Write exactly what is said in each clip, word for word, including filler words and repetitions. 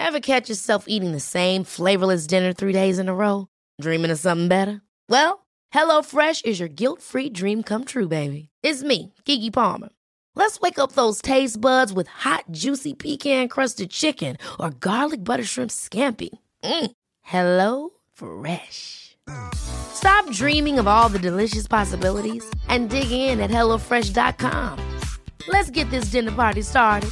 Ever catch yourself eating the same flavorless dinner three days in a row? Dreaming of something better? Well, HelloFresh is your guilt-free dream come true, baby. It's me, Keke Palmer. Let's wake up those taste buds with hot, juicy pecan-crusted chicken or garlic butter shrimp scampi. Mm. Hello Fresh. Stop dreaming of all the delicious possibilities and dig in at hello fresh dot com. Let's get this dinner party started.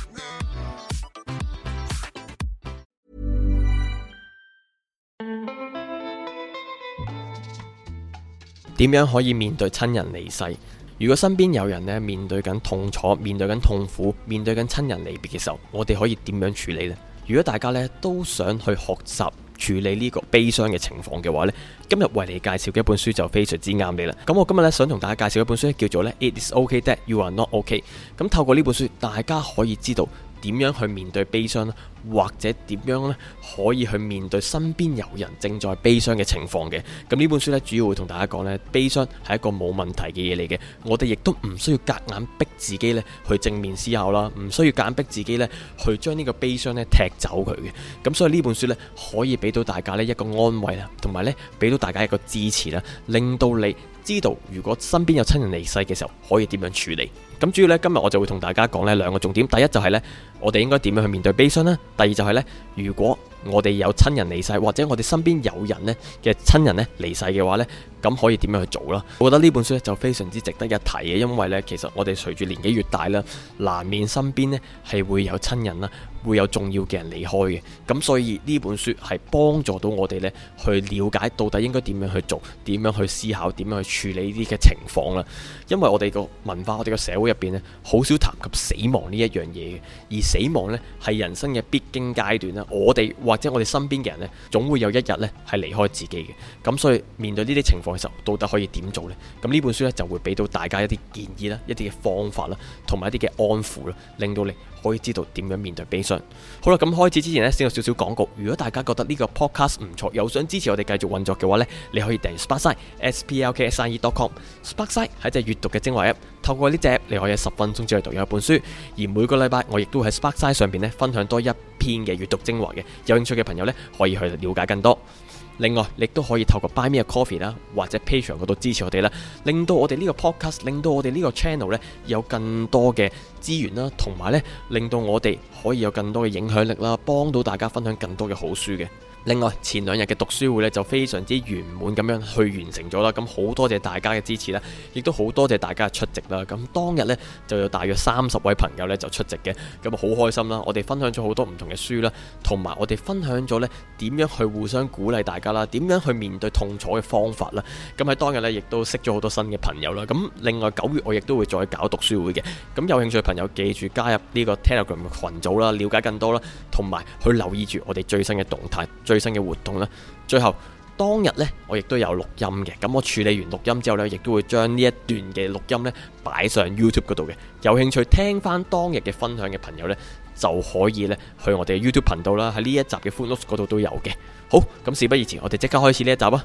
點樣可以面對親人離世？如果身邊有人咧面對緊痛楚、面對緊痛苦、面對緊親人離別嘅時候，我哋可以點樣處理呢？如果大家咧都想去學習處理呢個悲傷嘅情況嘅話呢，今日為你介紹嘅一本書就非常之啱你啦。咁我今日咧想同大家介紹一本書叫做咧 It is okay that you are not okay。咁透過呢本書，大家可以知道點樣去面對悲傷啦，或者點樣咧可以去面對身邊有人正在悲傷嘅情況嘅。咁呢本書咧主要會同大家講咧，悲傷係一個冇問題嘅嘢嚟嘅，我哋亦都唔需要夾硬逼自己咧去正面思考啦，唔需要夾硬逼自己咧去將呢個悲傷咧踢走佢嘅。咁所以呢本書咧可以俾到大家咧一個安慰啦，同埋咧俾到大家一個支持啦，令到你知道如果身邊有親人離世嘅時候可以點樣處理。咁主要咧今日我就會同大家講呢兩個重點，第一就係咧我哋應該點樣去面對悲傷啦，第二就係咧如果我哋有親人離世，或者我哋身邊有人呢嘅親人呢離世嘅話呢，咁可以點樣去做啦？我覺得呢本書呢就非常之值得一提嘅，因為呢其實我哋隨住年紀越大啦，難免身邊呢係會有親人啦，會有重要嘅人離開嘅。咁所以呢本書係幫助到我哋呢去了解到底應該點樣去做，點樣去思考，點樣去處理呢啲嘅情況啦。因為我哋個文化，我哋個社會入邊呢，好少談及死亡呢一樣嘢嘅，而死亡呢係人生嘅必經階段啦。我哋或者我哋身邊嘅人呢，總會有一日呢係離開自己嘅。咁所以面對呢啲情況嘅時候，到底可以點做呢？咁呢本書呢，就會俾到大家一啲建議啦，一啲嘅方法啦，同埋一啲嘅安撫啦，令到你可以知道點樣面對悲傷。好啦，咁開始之前呢，先有少少廣告。如果大家覺得呢個 podcast 唔錯，又想支持我哋繼續運作嘅話呢，你可以訂閱 Sparkside S P L K S I E dot com。Sparkside 係隻閱讀嘅精華 app，透過呢隻 app 你可以喺十分鐘之內讀完一本書。而每個禮拜我亦都喺 Sparkside 上邊呢分享多一篇嘅閱讀精華嘅，有興趣嘅朋友呢，可以去了解更多。另外，你都可以透過 Buy Me a Coffee 啦，或者 Patreon 嗰度支持我哋啦，令到我哋呢個 podcast， 令到我哋呢個 channel 呢有更多嘅資源啦，同埋呢令到我哋可以有更多嘅影響力啦，幫到大家分享更多嘅好書嘅。另外，前兩日嘅讀書會咧就非常之圓滿咁樣去完成咗啦，咁好多謝大家嘅支持啦，亦都好多謝大家嘅出席啦。咁當日呢，就有大約三十位朋友呢就出席嘅，咁啊好開心啦！我哋分享咗好多唔同嘅書啦，同埋我哋分享咗呢點樣去互相鼓勵大家啦，點樣去面對痛楚嘅方法啦。咁喺當日呢，亦都識咗好多新嘅朋友啦。咁另外九月我亦都會再搞讀書會嘅，咁有興趣嘅朋友記住加入呢個 Telegram 嘅群組啦，了解更多啦，同埋去留意住我哋最新嘅動態、最新嘅活動啦。最後當日呢，我亦都有錄音嘅，咁我處理完錄音之後呢，亦都會將呢一段嘅錄音呢擺上 YouTube 嗰度嘅。有興趣聽翻當日嘅分享嘅朋友呢，就可以呢去我哋嘅 YouTube 頻道啦，喺呢一集嘅 Footnotes 嗰度都有嘅。好，咁事不宜遲，我哋即刻開始呢一集啊！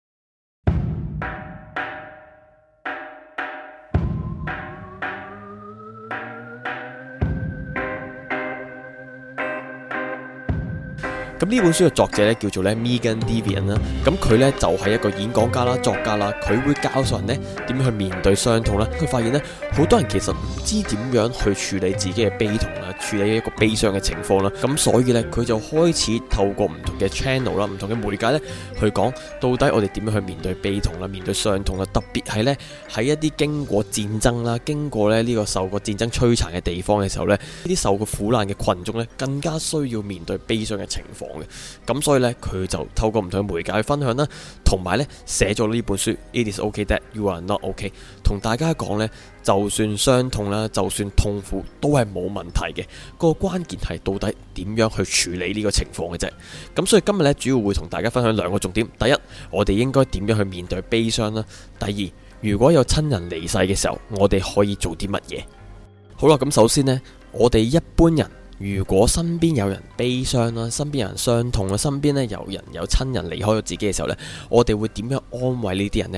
咁呢本書嘅作者咧叫做咧 Megan Devian 啦，咁佢咧就係一個演講家啦、作家啦，佢會教授人咧點樣去面對傷痛啦。佢發現咧好多人其實唔知點樣去處理自己嘅悲痛啦，處理一個悲傷嘅情況啦。咁所以咧佢就開始透過唔同嘅 channel 啦、唔同嘅媒介咧去講到底我哋點樣去面對悲痛啦、面對傷痛啦。特別係咧喺一啲經過戰爭啦、經過咧呢個受過戰爭摧殘嘅地方嘅時候咧，呢啲受過苦難嘅群眾咧更加需要面對悲傷嘅情況。咁所以呢，佢就透過唔同嘅媒介去分享啦，同埋呢寫咗呢本書 It is okay that you are not okay， 同大家講呢，就算傷痛啦，就算痛苦都係冇問題嘅。個關鍵係到底點樣去處理呢個情況嘅啫。咁所以今日呢，主要會同大家分享兩個重點。第一，我哋應該點樣去面對悲傷啦。第二，如果有親人離世嘅時候，我哋可以做啲乜嘢？好啦，咁首先呢，我哋一般人如果身邊有人悲傷啦，身邊有人傷痛啦，身邊咧有人有親人離開咗自己嘅時候呢，我哋會點樣安慰呢啲人呢？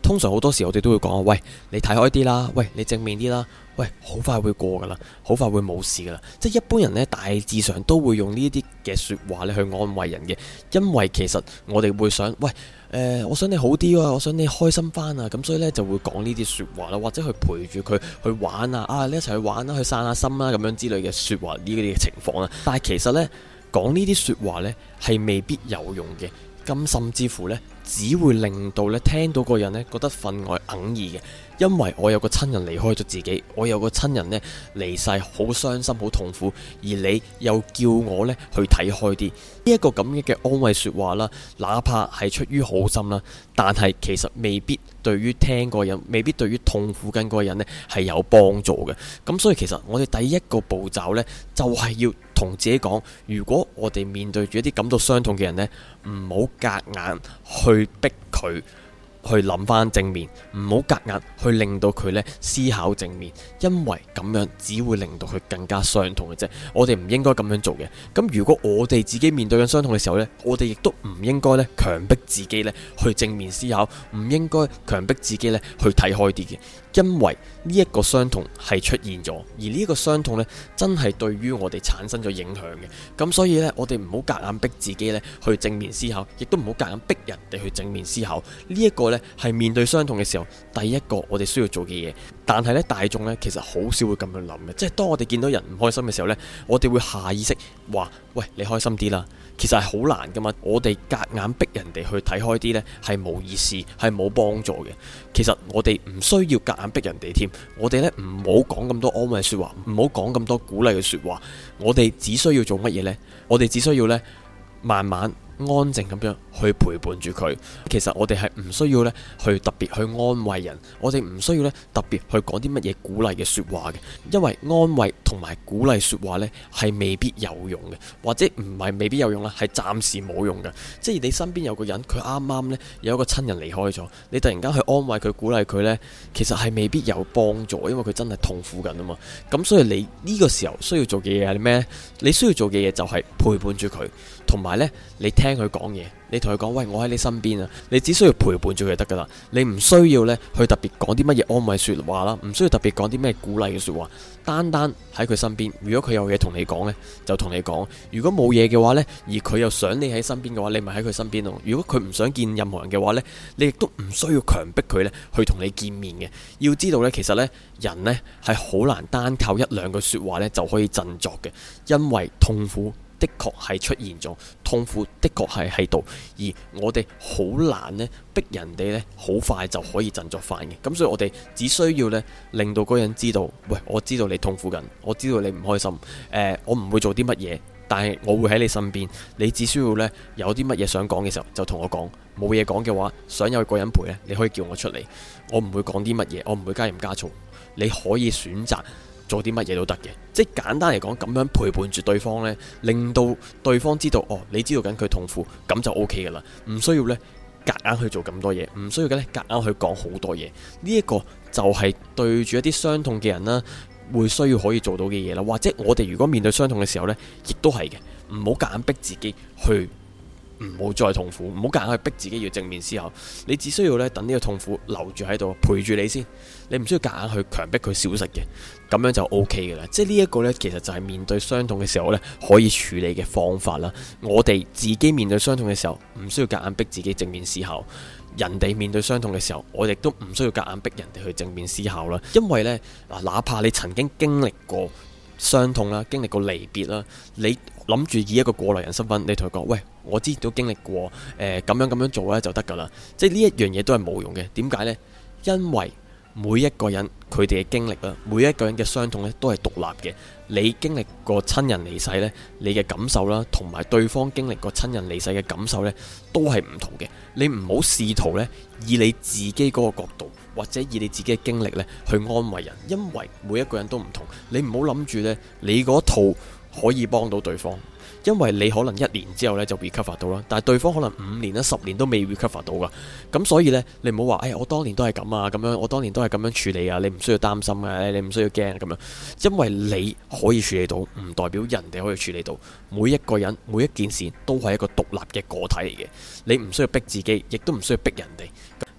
通常好多時我哋都會講，喂，你睇開啲啦，喂，你正面啲啦，喂，好快會過噶啦，好快會冇事噶啦。即係一般人呢，大致上都會用呢啲嘅說話咧去安慰人嘅，因為其實我哋會想，喂，誒、呃，我想你好啲啊，我想你開心翻啊，咁所以呢，就會講呢啲說話啦，或者去陪住佢去玩啊，啊，你一齊去玩啦，去散下心啦，咁樣之類嘅說話呢啲嘅情況啦。但係其實呢，講呢啲說話呢，係未必有用嘅。咁甚至乎呢，只會令到呢聽到個人呢覺得分外哽耳嘅，因為我有個親人離開咗自己，我有個親人呢離世，好傷心，好痛苦，而你又叫我呢去睇開啲，呢一個咁嘅嘅安慰說話啦，哪怕係出於好心啦，但係其實未必對於聽個人，未必對於痛苦緊個人呢係有幫助嘅。咁所以其實我哋第一個步驟呢，就係要同自己講，如果我哋面對住一啲感到傷痛嘅人呢，唔好夾硬去逼佢去諗翻正面，唔好夾硬去令到佢呢思考正面，因為咁樣只會令到佢更加傷痛嘅啫。我哋唔應該咁樣做嘅。咁如果我哋自己面對緊傷痛嘅時候呢，我哋亦都唔應該呢強迫自己呢去正面思考，唔應該強迫自己呢去睇開啲嘅。因為呢一個傷痛係出現咗，而呢一個傷痛呢真係對於我哋產生咗影響嘅。咁所以呢，我哋唔好夾硬逼自己呢去正面思考，亦都唔好夾硬逼人哋去正面思考。呢一個呢係面對傷痛嘅時候，第一個我哋需要做嘅嘢。但係呢，大眾呢其實好少會咁樣諗嘅，即係當我哋見到人唔開心嘅時候呢，我哋會下意識話：喂，你開心啲啦。其實係好難噶嘛，我哋夾硬逼人哋去睇開啲呢，係冇意思，係冇幫助嘅。其實我哋唔需要夾硬逼人哋添，我哋呢唔好講咁多安慰說話，唔好講咁多鼓勵嘅說話。我哋只需要做乜嘢呢？我哋只需要呢，慢慢安靜咁樣去陪伴住佢。其實我哋係唔需要呢去特別去安慰人，我哋唔需要呢特別去講啲乜嘢鼓勵嘅說話嘅，因為安慰同埋鼓勵說話呢係未必有用嘅，或者唔係未必有用啦，係暫時冇用嘅。即係你身邊有個人，佢啱啱呢有一個親人離開咗，你突然間去安慰佢、鼓勵佢呢，其實係未必有幫助，因為佢真係痛苦緊啊嘛。咁所以你呢個時候需要做嘅嘢係咩呢？你需要做嘅嘢就係陪伴住佢，同埋呢你聽佢講嘢。你同佢講，喂，我喺你身邊啊！你只需要陪伴住佢就得噶啦，你唔需要呢去特別講啲乜嘢安慰說話啦，唔需要特別講啲咩鼓勵嘅說話，單單喺佢身邊。如果佢有嘢同你講呢，就同你講；如果冇嘢嘅話呢，而佢又想你喺身邊嘅話，你咪喺佢身邊咯。如果佢唔想見任何人嘅話呢，你亦都唔需要強迫佢呢去同你見面嘅。要知道呢，其實呢，人呢係好難單靠一兩句說話呢就可以振作嘅，因為痛苦的確係出現咗，痛苦的確係喺度，而我哋好難呢逼人哋呢好快就可以振作翻嘅。咁所以我哋只需要呢令到嗰個人知道，喂，我知道你痛苦緊，我知道你唔開心，誒、呃，我唔會做啲乜嘢，但係我會喺你身邊。你只需要呢有啲乜嘢想講嘅時候就同我講，冇嘢講嘅話，想有個人陪呢，你可以叫我出嚟，我唔會講啲乜嘢，我唔會加鹽加醋，你可以選擇做啲乜嘢都得嘅。即係簡單嚟講，咁樣陪伴住對方呢，令到對方知道，哦，你知道緊佢痛苦，咁就 O K 噶啦，唔需要呢夾硬去做咁多嘢，唔需要嘅呢夾硬去講好多嘢。呢一個就係對住一啲傷痛嘅人啦，會需要可以做到嘅嘢啦。或者我哋如果面對傷痛嘅時候呢，亦都係嘅，唔好夾硬逼自己去。唔好再痛苦，唔好夾硬去逼自己要正面思考。你只需要咧等呢個痛苦留住喺度，陪住你先。你唔需要夾硬去強迫佢消失嘅，咁樣就 O K 嘅啦。即係呢一個呢，其實就係面對傷痛嘅時候呢，可以處理嘅方法啦。我哋自己面對傷痛嘅時候，唔需要夾硬逼自己正面思考。人哋面對傷痛嘅時候，我哋都唔需要夾硬逼人哋去正面思考啦。因為呢，嗱，哪怕你曾經經歷過傷痛啦，經歷過離別啦，你諗住以一個過來人身份，你同佢講，喂，我之前都經歷過，誒、呃，咁樣咁樣做咧就得噶啦。即係呢一樣嘢都係冇用嘅。點解呢？因為每一個人佢哋嘅經歷啦，每一個人嘅傷痛咧都係獨立嘅。你經歷過親人離世呢，你嘅感受啦，同埋對方經歷過親人離世嘅感受呢，都係唔同嘅。你唔好試圖呢，以你自己嗰個角度，或者以你自己嘅經歷呢去安慰人，因為每一個人都唔同。你唔好諗住呢，你嗰套可以幫到對方。因為你可能一年之後咧就 recover 到啦，但係對方可能五年啦、十年都未 recover 到噶。咁所以呢，你唔好話，哎，我當年都係咁啊，咁樣我當年都係咁樣處理啊，你唔需要擔心啊，你唔需要驚咁樣。因為你可以處理到，唔代表人哋可以處理到。每一個人每一件事都係一個獨立嘅個體嚟嘅，你唔需要逼自己，亦都唔需要逼人哋。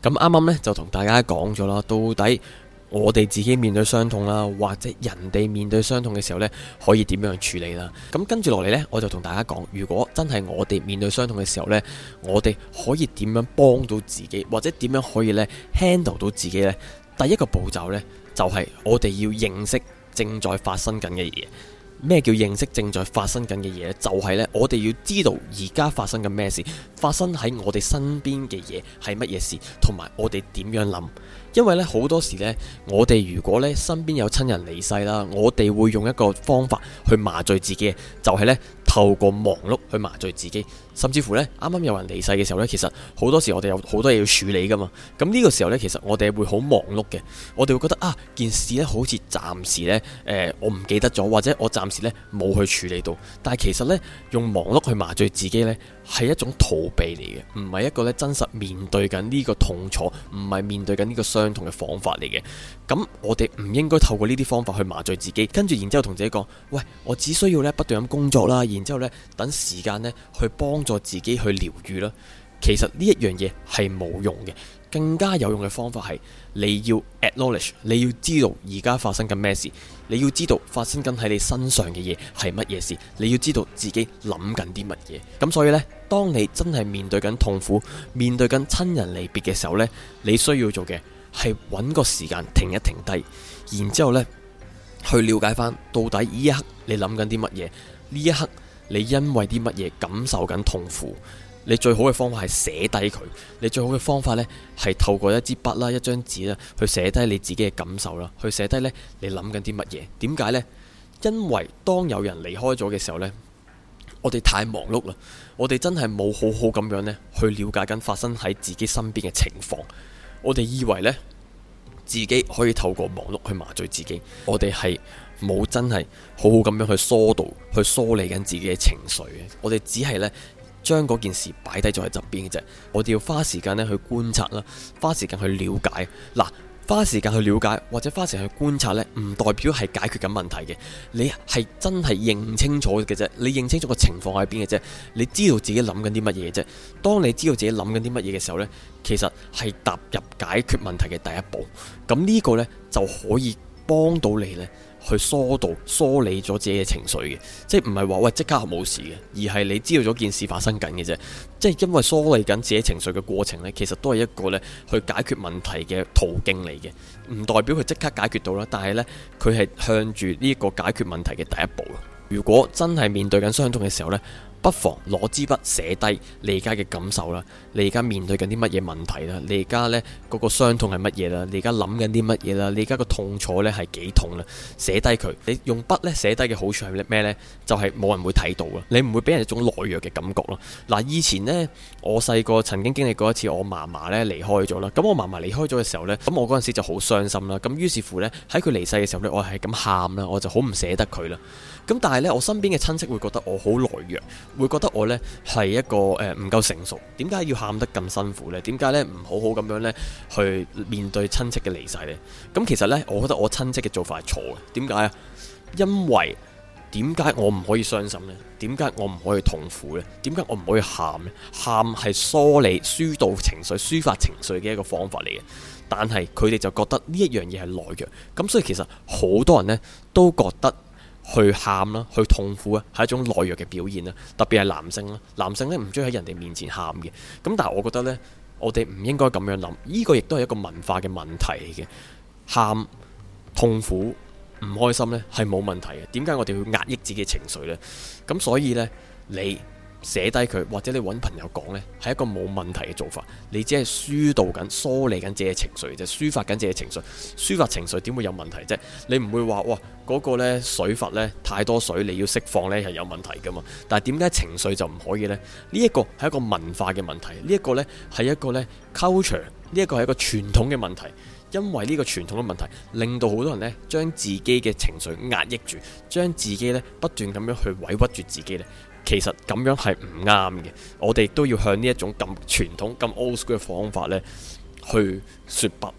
咁啱啱呢，就同大家講咗啦，到底我哋自己面對傷痛啦，或者人哋面對傷痛嘅時候呢，可以點樣處理啦？咁跟住落嚟呢，我就同大家講，如果真係我哋面對傷痛嘅時候呢，我哋可以點樣幫到自己，或者點樣可以呢 handle 到自己呢？第一個步驟呢，就係我哋要認識正在發生緊嘅嘢。咩叫認識正在發生緊嘅嘢呢？就係呢，我哋要知道而家發生緊咩事，發生喺我哋身邊嘅嘢係乜嘢事，同埋我哋點樣諗。因為咧好多時呢，我哋如果咧身邊有親人離世啦，我哋會用一個方法去麻醉自己，就係呢，透過忙碌去麻醉自己。甚至乎呢，啱啱有人離世嘅時候呢，其實好多時我哋有好多嘢要處理噶嘛。咁呢個時候呢，其實我哋會好忙碌嘅，我哋會覺得啊，件事呢好似暫時呢，誒、呃，我唔記得咗，或者我暫時呢冇去處理到。但係其實呢，用忙碌去麻醉自己呢，係一種逃避嚟嘅，唔係一個咧真實面對緊呢個痛楚，唔係面對緊呢個傷痛嘅方法嚟嘅。咁我哋唔應該透過呢啲方法去麻醉自己，跟住然之後同自己講，喂，我只需要咧不斷咁工作啦，然之後咧等時間咧去幫助自己去療愈啦。其實呢一樣嘢係冇用嘅，更加有用嘅方法係你要 acknowledge， 你要知道而家發生緊咩事，你要知道發生緊喺你身上嘅嘢係乜嘢事，你要知道自己諗緊啲乜嘢。咁所以呢，當你真係面對緊痛苦，面對緊親人離別嘅時候呢，你需要做嘅係揾個時間停一停低，然之後呢去了解翻到底呢一刻你諗緊啲乜嘢，呢一刻你因為啲乜嘢感受緊痛苦。你最好嘅方法係寫低佢，你最好嘅方法呢係透過一支筆啦、一張紙啦，去寫低你自己嘅感受啦，去寫低呢你諗緊啲乜嘢。點解呢？因為當有人離開咗嘅時候呢，我哋太忙碌啦，我哋真係冇好好咁樣呢去了解緊發生喺自己身邊嘅情況。我哋以為呢自己可以透過忙碌去麻醉自己，我哋係冇真係好好咁樣去疏導、去梳理緊自己嘅情緒嘅。我哋只係呢將嗰件事擺低咗喺側邊嘅啫，我哋要花時間咧去觀察啦，花時間去了解。嗱，花時間去了解或者花時間去觀察呢，唔代表係解決緊問題嘅。你係真係認清楚嘅啫，你認清楚個情況喺邊嘅啫，你知道自己諗緊啲乜嘢啫。當你知道自己諗緊啲乜嘢嘅時候呢，其實係踏入解決問題嘅第一步。咁呢個呢，就可以幫到你呢。去疏導、梳理咗自己嘅情緒嘅，即係唔係話喂即刻冇事嘅，而係你知道咗件事發生緊嘅啫。即係因為梳理緊自己情緒嘅過程呢，其實都係一個呢去解決問題嘅途徑嚟嘅，唔代表佢即刻解決到啦。但係呢，佢係向住呢個解決問題嘅第一步。如果真係面對緊傷痛嘅時候呢，不妨攞支筆寫低你而家嘅感受啦，你而家面對緊啲乜嘢問題啦，你而家呢嗰個傷痛係乜嘢啦，你而家諗緊啲乜嘢啦，你而家個痛楚呢係幾痛啦，寫低佢。你用筆呢寫低嘅好處係咩呢？就係冇人會睇到啦，你唔會俾人一種懦弱嘅感覺咯。嗱，以前呢，我細個曾經經歷過一次我嫲嫲呢離開咗啦，咁我嫲嫲離開咗嘅時候呢，咁我嗰陣時就好傷心啦，咁於是乎呢，喺佢離世嘅時候呢，我係咁喊啦，我就好唔捨得佢啦。咁但係呢，我身邊嘅親戚會覺得我好懦弱，會覺得我呢係一個誒唔夠成熟，點解要喊得咁辛苦呢？點解呢唔好好咁樣呢去面對親戚嘅離世呢？咁其實呢，我覺得我親戚嘅做法係錯嘅。點解啊？因為點解我唔可以傷心呢？點解我唔可以痛苦呢？點解我唔可以喊呢？喊係梳理、疏導情緒、抒發情緒嘅一個方法嚟嘅。但係佢哋就覺得呢一樣嘢係懦弱，咁所以其實好多人呢都覺得去喊啦，去痛苦啊，係一種懦弱嘅表現啦。特別係男性啦，男性呢唔中意喺人哋面前喊嘅。咁但係我覺得呢，我哋唔應該咁樣諗，呢個亦都係一個文化嘅問題嚟嘅。喊、痛苦、唔開心呢係冇問題嘅。點解我哋要壓抑自己嘅情緒呢？咁所以呢，你寫低佢，或者你揾朋友講呢，係一個冇問題嘅做法。你只係疏導緊、梳理緊自己嘅情緒，就抒發緊自己嘅情緒。抒發情緒點會有問題啫？你唔會話哇嗰個呢水閥呢太多水，你要釋放呢係有問題噶嘛？但係點解情緒就唔可以呢？呢一個係一個文化嘅問題，呢一個呢係一個呢 culture，呢一個係一個傳統嘅問題。因為呢個傳統嘅問題，令到好多人呢將自己嘅情緒壓抑住，將自己呢不斷咁樣去委屈住自己呢。其實咁樣係唔啱嘅，我哋都要向呢一種咁傳統、咁 old school 嘅方法呢去說不。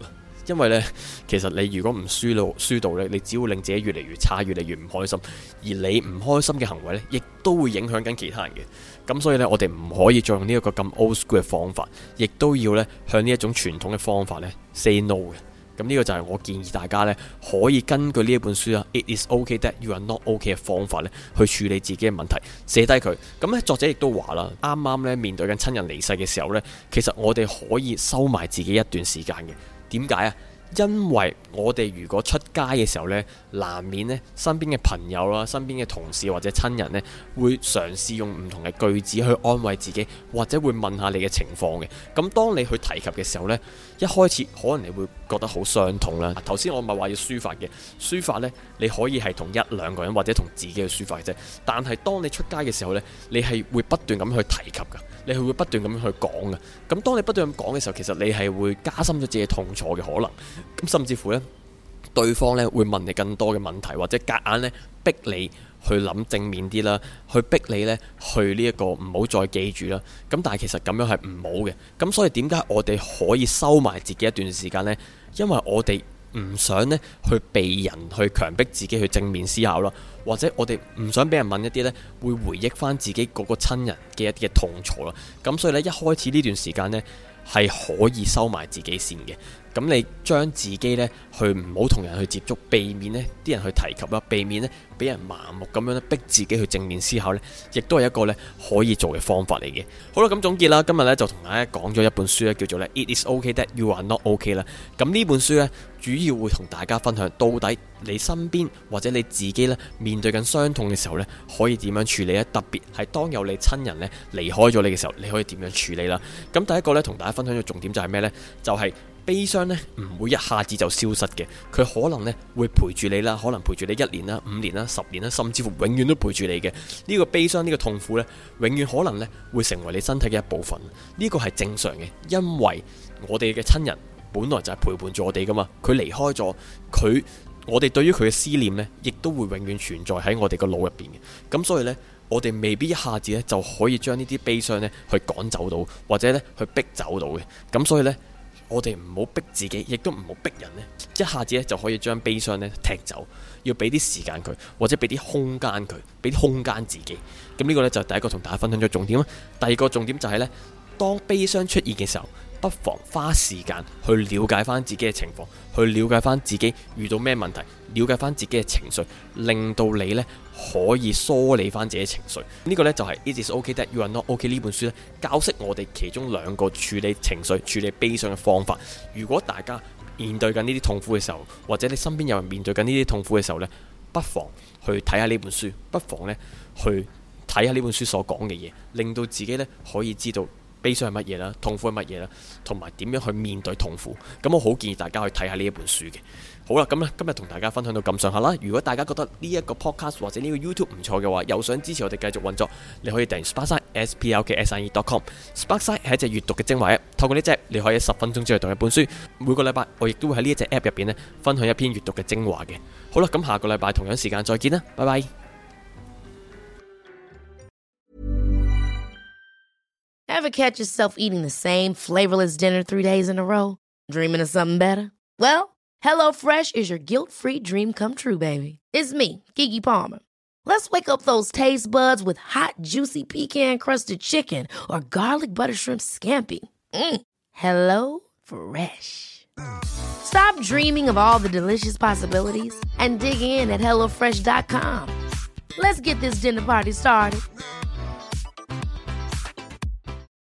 因為呢，其實你如果唔輸到輸到呢，你只會令自己越嚟越差，越嚟越唔開心。而你唔開心嘅行為呢，亦都會影響緊其他人嘅。咁所以呢，我哋唔可以再用呢一個咁 old school 嘅方法，亦都要呢向呢一種傳統嘅方法呢 say no 嘅。咁呢個就係我建議大家呢，可以根據呢一本書啊 It is okay that you are not okay 嘅方法呢，去處理自己嘅問題，寫低佢。咁呢，作者亦都話啦，啱啱呢面對緊親人離世嘅時候呢，其實我哋可以收埋自己一段時間嘅。點解啊？因為我哋如果出街嘅時候呢，難免呢身邊嘅朋友啦、身邊嘅同事或者親人呢，會嘗試用唔同嘅句子去安慰自己，或者會問下你嘅情況嘅。咁當你去提及嘅時候呢，一開始可能你會覺得好傷痛啦。頭先我咪話要抒發嘅，抒發呢，你可以係同一兩個人或者同自己去抒發嘅啫。但係當你出街嘅時候呢，你係會不斷咁去提及噶，你係會不斷咁去講嘅。咁當你不斷咁講嘅時候，其實你係會加深咗自己痛楚嘅可能。咁甚至乎呢，對方呢會問你更多嘅問題，或者夾硬呢逼你去諗正面啲啦，去逼你呢去呢一個唔好再記住啦。咁但係其實咁樣係唔好嘅。咁所以點解我哋可以收埋自己一段時間呢？因為我哋唔想呢去被人去強迫自己去正面思考啦，或者我哋唔想俾人問一啲呢會回憶翻自己嗰個親人嘅一啲嘅痛楚啦。咁所以呢，一開始呢段時間呢，係可以收埋自己先嘅。咁你將自己呢去唔好同人去接觸，避免呢啲人去提及啦，避免呢俾人盲目咁樣咧逼自己去正面思考呢，亦都係一個呢可以做嘅方法嚟嘅。好啦，咁總結啦，今日呢就同大家講咗一本書呢，叫做呢 It is okay that you are not okay 啦。咁呢本書呢，主要會同大家分享到底你身邊或者你自己呢面對緊傷痛嘅時候呢，可以點樣處理呢？特別係當有你親人呢離開咗你嘅時候，你可以點樣處理啦？咁第一個呢，同大家分享嘅重點就係咩呢？就係、是悲傷呢唔會一下子就消失嘅，佢可能呢會陪住你啦，可能陪住你一年啦、五年啦、十年啦，甚至乎永遠都陪住你嘅。呢個悲傷、呢個痛苦呢，永遠可能呢會成為你身體嘅一部分。呢個係正常嘅，因為我哋嘅親人本來就係陪伴住我哋噶嘛，佢離開咗，佢我哋對於佢嘅思念呢，亦都會永遠存在喺我哋個腦入邊嘅。咁所以呢，我哋未必一下子呢就可以將呢啲悲傷呢去趕走到，或者呢去逼走到嘅。咁所以呢，我哋唔好逼自己，亦都唔好逼人呢，一下子咧就可以將悲傷呢踢走，要俾啲時間佢，或者俾啲空間佢，俾啲空間自己。咁呢個呢，就係第一個同大家分享咗重點啦。第二個重點就係呢，當悲傷出現嘅時候，不妨花時間去了解翻自己嘅情況，去了解翻自己遇到咩問題，了解翻自己嘅情緒，令到你呢可以梳理翻自己嘅情緒。呢個呢，就係 It is okay that you are not okay 呢本書呢教識我哋其中兩個處理情緒、處理悲傷嘅方法。如果大家面對緊呢啲痛苦嘅時候，或者你身邊有人面對緊呢啲痛苦嘅時候呢，不妨去睇下呢本書，不妨呢去睇下呢本書所講嘅嘢，令到自己呢可以知道悲傷係乜嘢啦，痛苦係乜嘢啦，同埋點樣去面對痛苦。咁我好建議大家去睇下呢一本書嘅。好啦，咁咧今日同大家分享到咁上下啦。如果大家覺得呢一個 podcast 或者呢個 YouTube 唔錯嘅話，又想支持我哋繼續運作，你可以訂閱 Sparkside s p l k s i e dot com。Sparkside 係一隻閱讀嘅精華 app， 透過呢隻你可以十分鐘之內讀一本書。每個禮拜我亦都會喺呢一隻 app 入邊咧分享一篇閱讀嘅精華嘅。好啦，咁下個禮拜同樣時間再見啦，拜拜。 Ever catch yourself eating the same flavorless dinner three days in a row? Dreaming of something better? Well, HelloFresh is your guilt-free dream come true, baby. It's me, Keke Palmer. Let's wake up those taste buds with hot, juicy pecan-crusted chicken or garlic butter shrimp scampi. Mm. Hello Fresh. Stop dreaming of all the delicious possibilities and dig in at hello fresh dot com. Let's get this dinner party started.